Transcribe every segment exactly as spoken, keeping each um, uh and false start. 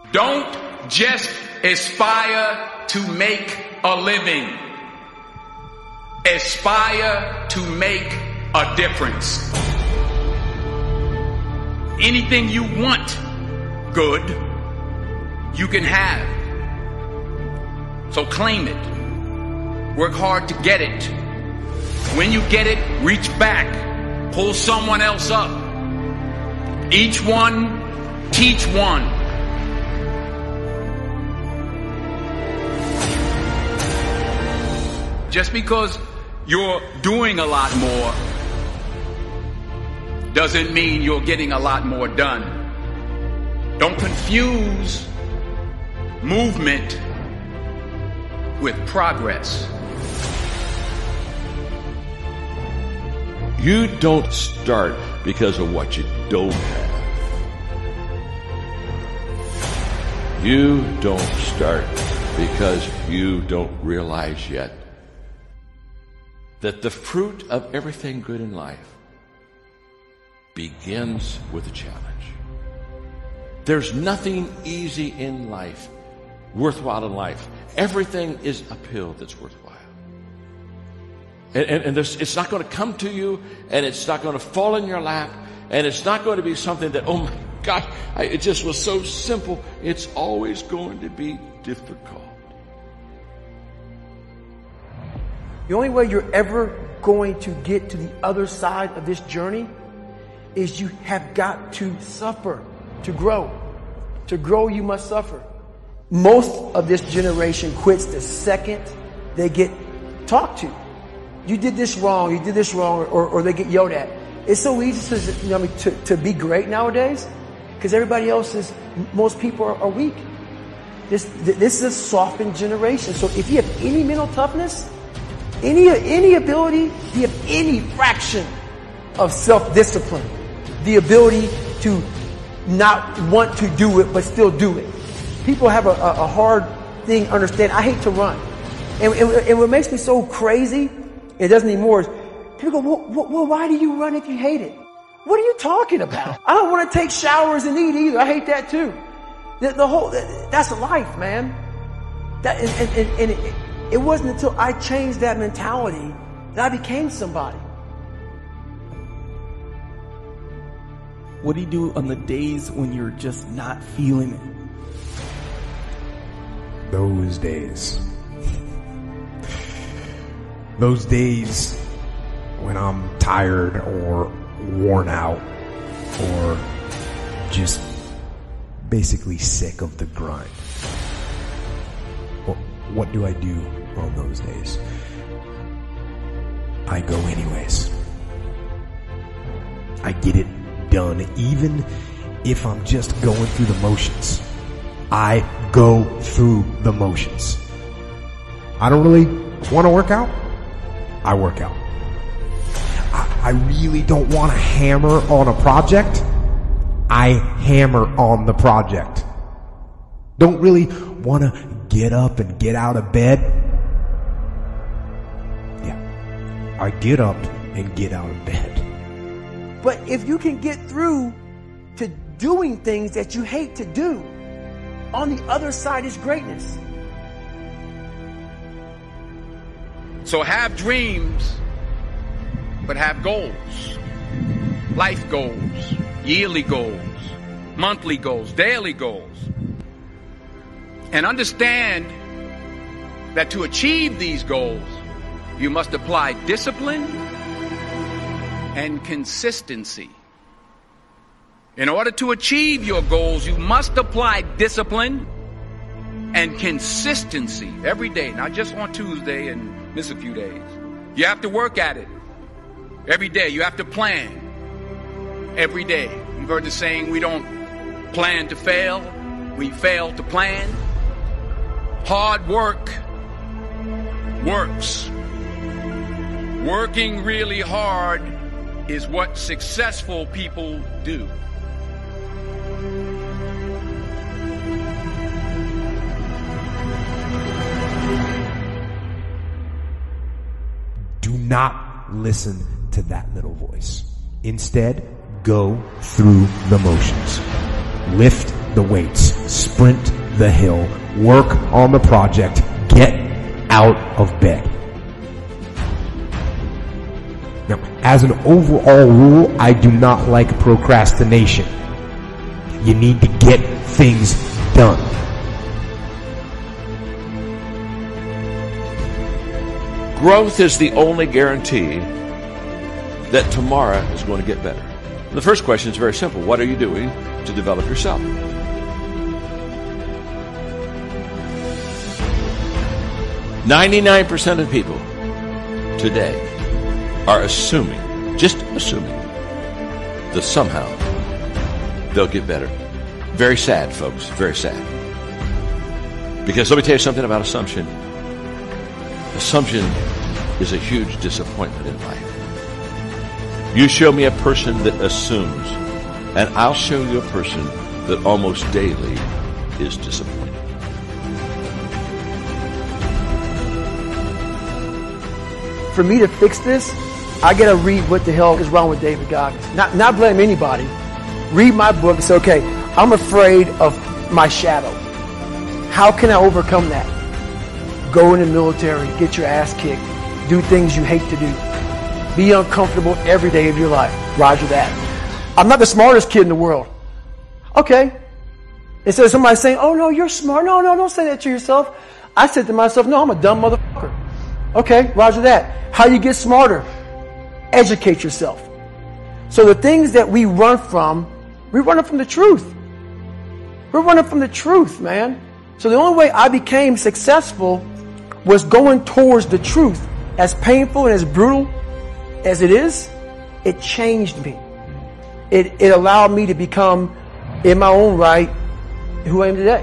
Don't just aspire to make a living. Aspire to make a difference. Anything you want good, you can have. So claim it. Work hard to get it. When you get it, reach back. Pull someone else up. Each one, teach one. Just because you're doing a lot more doesn't mean you're getting a lot more done. Don't confuse movement with progress. You don't start because of what you don't have. You don't start because you don't realize yet that the fruit of everything good in life begins with a challenge. There's nothing easy in life, worthwhile in life. Everything is uphill that's worthwhile. And, and, and there's, it's not going to come to you, and it's not going to fall in your lap, and it's not going to be something that, oh my gosh, I, it just was so simple. It's always going to be difficult. The only way you're ever going to get to the other side of this journey is you have got to suffer to grow. To grow, you must suffer. Most of this generation quits the second they get talked to. You did this wrong, you did this wrong, or, or they get yelled at. It's so easy to, you know, to, to be great nowadays because everybody else is, most people are, are weak. This, this is a softened generation. So if you have any mental toughness, Any, any ability, if you have any fraction of self-discipline, the ability to not want to do it but still do it. People have a, a, a hard thing understand. I hate to run. And, and, and what makes me so crazy, it doesn't anymore, is people go, well, well, why do you run if you hate it? What are you talking about? I don't want to take showers and eat either. I hate that too. The, the whole, that's life, man. That, and, and, and, and it, It wasn't until I changed that mentality that I became somebody. What do you do on the days when you're just not feeling it? Those days. Those days when I'm tired or worn out or just basically sick of the grind. What do I do on those days? I go anyways. I get it done, even if I'm just going through the motions. I go through the motions. I don't really want to work out. I work out. I, I really don't want to hammer on a project. I hammer on the project. Don't really want to get up and get out of bed. Yeah, I get up and get out of bed. But if you can get through to doing things that you hate to do, on the other side is greatness. So have dreams, but have goals. Life goals, yearly goals, monthly goals, daily goals. And understand that to achieve these goals, you must apply discipline and consistency. In order to achieve your goals, you must apply discipline and consistency every day, not just on Tuesday and miss a few days. You have to work at it every day. You have to plan every day. You've heard the saying, we don't plan to fail, we fail to plan. Hard work works. Working really hard is what successful people do. Do not listen to that little voice. Instead, go through the motions. Lift the weights. sprint the hill, work on the project, get out of bed. Now, as an overall rule, I do not like procrastination. You need to get things done. Growth is the only guarantee that tomorrow is going to get better. The first question is very simple. What are you doing to develop yourself? ninety-nine percent of people today are assuming, just assuming, that somehow they'll get better. Very sad, folks, very sad. Because let me tell you something about assumption. Assumption is a huge disappointment in life. You show me a person that assumes, and I'll show you a person that almost daily is disappointed. For me to fix this, I gotta read what the hell is wrong with David Goggins. Not, not blame anybody. Read my book and say, okay, I'm afraid of my shadow. How can I overcome that? Go in the military, get your ass kicked, do things you hate to do. Be uncomfortable every day of your life. Roger that. I'm not the smartest kid in the world. Okay. Instead of somebody saying, oh no, you're smart. No, no, don't say that to yourself. I said to myself, no, I'm a dumb motherfucker. Okay, roger that. How you get smarter? Educate yourself. So the things that we run from, we're running from the truth. We're running from the truth, man. So the only way I became successful was going towards the truth. As painful and as brutal as it is, it changed me. It, it allowed me to become, in my own right, who I am today.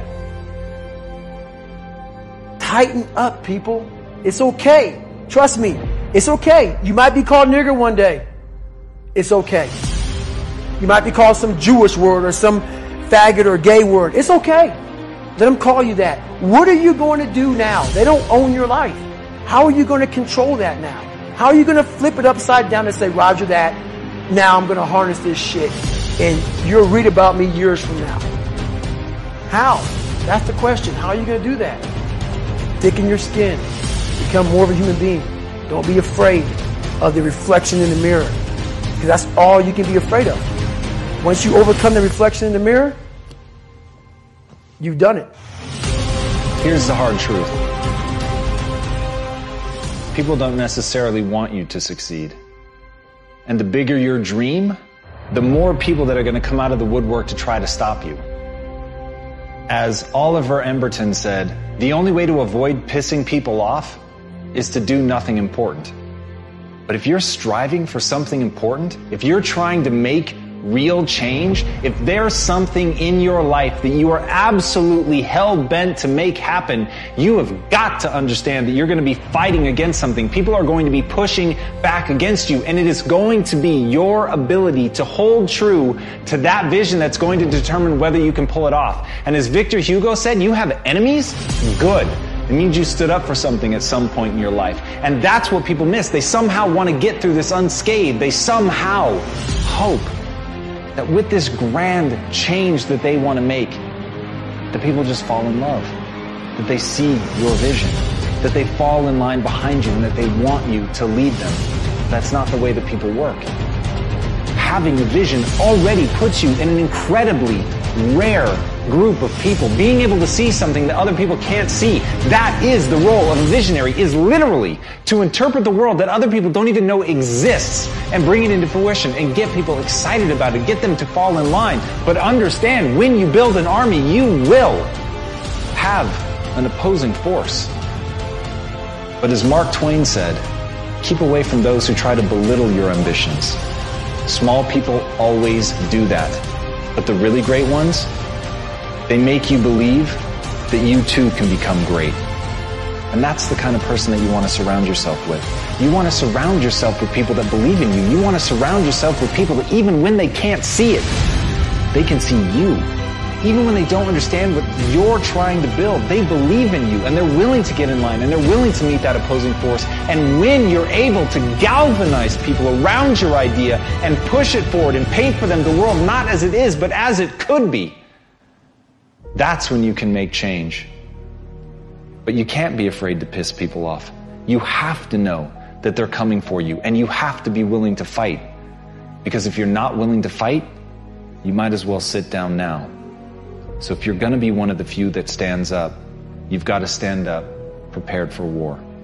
Tighten up, people. It's okay. Trust me. It's okay. You might be called nigger one day. It's okay. You might be called some Jewish word or some faggot or gay word. It's okay. Let them call you that. What are you going to do now? They don't own your life. How are you going to control that now? How are you going to flip it upside down and say, roger that, now I'm going to harness this shit and you'll read about me years from now? How? That's the question. How are you going to do that? Thicken your skin. Become more of a human being. Don't be afraid of the reflection in the mirror, because that's all you can be afraid of. Once you overcome the reflection in the mirror, you've done it. Here's the hard truth. People don't necessarily want you to succeed. And the bigger your dream, the more people that are going to come out of the woodwork to try to stop you. As Oliver Emberton said, the only way to avoid pissing people off is to do nothing important. But if you're striving for something important, if you're trying to make real change, if there's something in your life that you are absolutely hell-bent to make happen, you have got to understand that you're going to be fighting against something. People are going to be pushing back against you, and it is going to be your ability to hold true to that vision that's going to determine whether you can pull it off. And as Victor Hugo said, you have enemies? Good. It means you stood up for something at some point in your life. And that's what people miss. They somehow want to get through this unscathed. They somehow hope that with this grand change that they want to make, that people just fall in love, that they see your vision, that they fall in line behind you, and that they want you to lead them. That's not the way that people work. Having a vision already puts you in an incredibly rare group of people. Being able to see something that other people can't see, that is the role of a visionary, is literally to interpret the world that other people don't even know exists and bring it into fruition and get people excited about it, get them to fall in line. But understand, when you build an army, you will have an opposing force. But as Mark Twain said, keep away from those who try to belittle your ambitions. Small people always do that. But the really great ones, they make you believe that you too can become great. And that's the kind of person that you want to surround yourself with. You want to surround yourself with people that believe in you. You want to surround yourself with people that even when they can't see it, they can see you. Even when they don't understand what you're trying to build, they believe in you and they're willing to get in line and they're willing to meet that opposing force. And when you're able to galvanize people around your idea and push it forward and paint for them the world not as it is, but as it could be, That's when you can make change. But you can't be afraid to piss people off. You have to know that they're coming for you, and you have to be willing to fight. Because if you're not willing to fight, you might as well sit down now. So if you're going to be one of the few that stands up, you've got to stand up prepared for war.